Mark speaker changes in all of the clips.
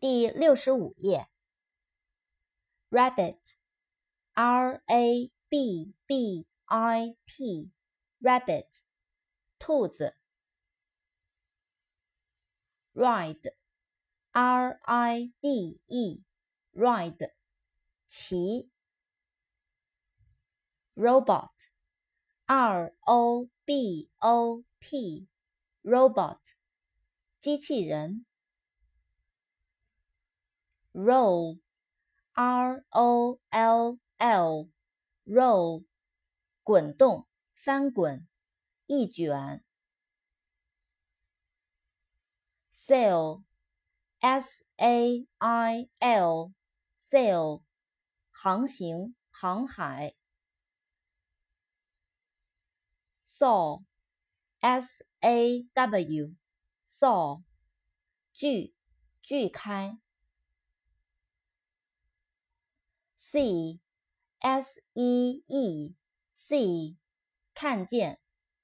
Speaker 1: 第65页 Rabbit R-A-B-B-I-T Rabbit 兔子 Ride R-I-D-E Ride 骑 Robot R-O-B-O-T Robot 机器人Roll R-O-L-L Roll 滚动翻滚一卷Sail S-A-I-L Sail 航行航海Saw S-A-W Saw 锯开See S-E-E See 看见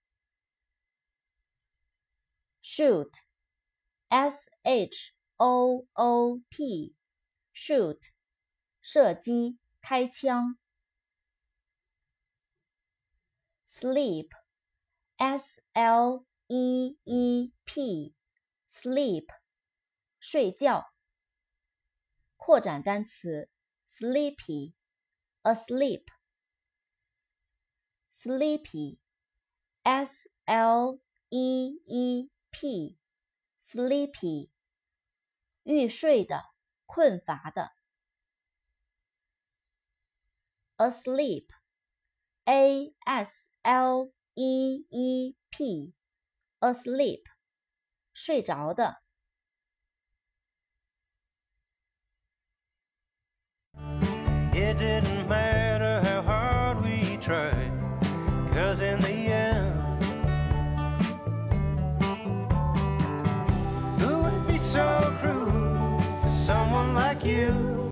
Speaker 1: Shoot S-H-O-O-T Shoot 射击开枪Sleep S-L-E-E-P Sleep 睡觉扩展单词 Sleepy Asleep Sleepy S-L-E-E-P Sleepy 欲睡的困乏的Asleep A-S-L-E-E-P Asleep 睡着的
Speaker 2: It didn't matter how hard we tried, 'cause in the end, who would be so cruel to someone like you?